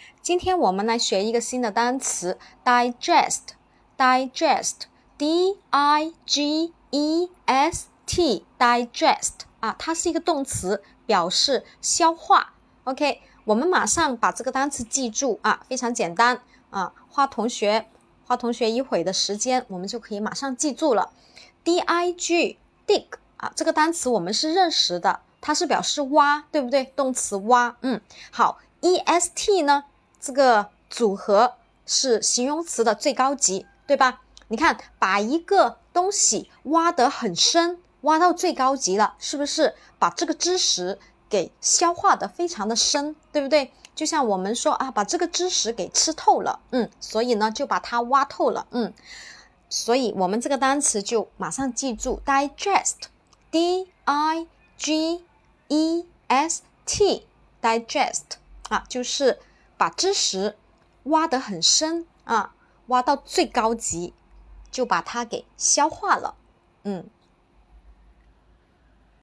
今天我们来学一个新的单词 digest D-I-G-E-S-T digest 它是一个动词，表示消化。 OK， 我们马上把这个单词记住非常简单花同学一会的时间，我们就可以马上记住了。 dig 这个单词我们是认识的，它是表示挖，对不对？动词挖。好， est 呢，这个组合是形容词的最高级，对吧？你看，把一个东西挖得很深，挖到最高级了，是不是把这个知识给消化得非常的深，对不对？就像我们说把这个知识给吃透了，所以呢就把它挖透了，所以我们这个单词就马上记住 digest D-I-G-E-S-T digest 就是把知识挖得很深挖到最高级，就把它给消化了。